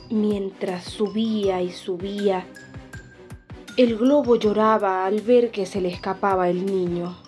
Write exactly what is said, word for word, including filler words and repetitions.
Mientras subía y subía, el globo lloraba al ver que se le escapaba el niño.